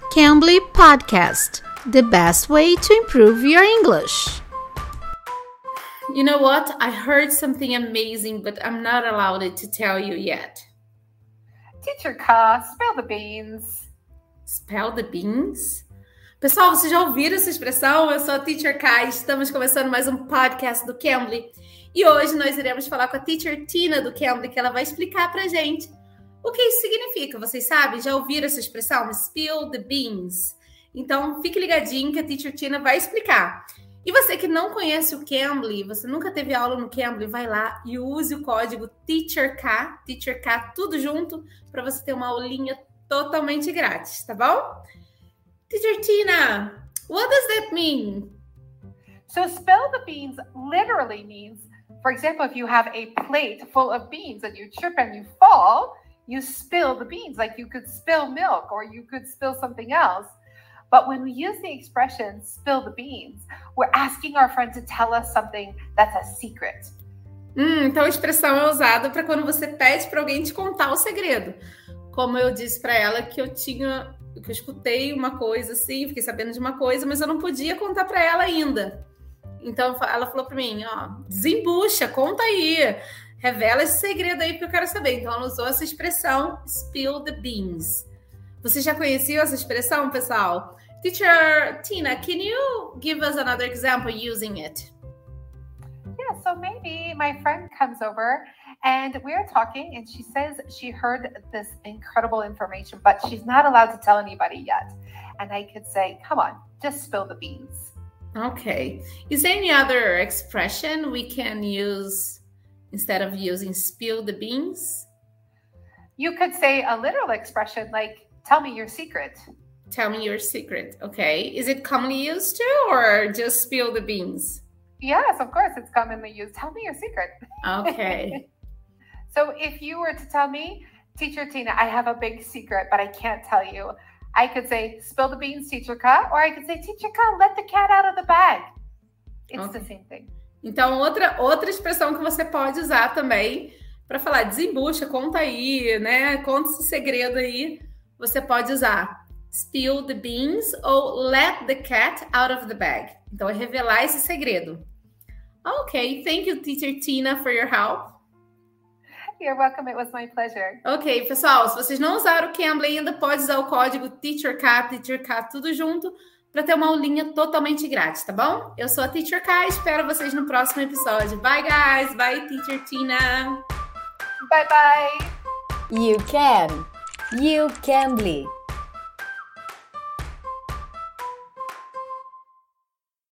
Cambly Podcast, the best way to improve your English. You know what? I heard something amazing, but I'm not allowed to tell you yet. Teacher Ka, spill the beans. Spell the beans? Pessoal, vocês já ouviram essa expressão? Eu sou a Teacher Ka e estamos começando mais um podcast do Cambly. E hoje nós iremos falar com a Teacher Tina do Cambly, que ela vai explicar pra gente o que isso significa. Vocês sabem? Já ouviram essa expressão? Spill the beans. Então, fique ligadinho que a Teacher Tina vai explicar. E você que não conhece o Cambly, você nunca teve aula no Cambly, vai lá e use o código TEACHERK, tudo junto, para você ter uma aulinha totalmente grátis, tá bom? Teacher Tina, what does that mean? So spill the beans literally means, for example, if you have a plate full of beans and you trip and you fall, you spill the beans, like you could spill milk or you could spill something else. But when we use the expression spill the beans, we're asking our friend to tell us something that's a secret. Então a expressão é usada para quando você pede para alguém te contar o segredo. Como eu disse para ela que eu escutei uma coisa assim, fiquei sabendo de uma coisa, mas eu não podia contar para ela ainda. Então ela falou para mim, desembucha, conta aí, revela esse segredo aí porque eu quero saber. Então ela usou essa expressão spill the beans. Você já conhecia essa expressão, pessoal? Teacher Tina, can you give us another example using it? Yeah, so maybe my friend comes over and we're talking and she says she heard this incredible information, but she's not allowed to tell anybody yet. And I could say, come on, just spill the beans. Okay. Is there any other expression we can use instead of using spill the beans? You could say a literal expression like, tell me your secret. Tell me your secret. Okay. Is it commonly used too, or just spill the beans? Yes, of course, it's commonly used. Tell me your secret. Okay. So if you were to tell me, Teacher Tina, I have a big secret, but I can't tell you. I could say, spill the beans, Teacher Ka, or I could say, Teacher Ka, let the cat out of the bag. It's the same thing. Então, outra expressão que você pode usar também para falar desembucha, conta aí, né? Conta esse segredo aí. Você pode usar spill the beans ou let the cat out of the bag. Então, é revelar esse segredo. Ok, thank you, Teacher Tina, for your help. You're welcome, it was my pleasure. Ok, pessoal, se vocês não usaram o Cambly ainda, pode usar o código TEACHERK, tudo junto, para ter uma aulinha totalmente grátis, tá bom? Eu sou a Teacher Ka e espero vocês no próximo episódio. Bye, guys! Bye, Teacher Tina! Bye-bye! You can! You Cambly!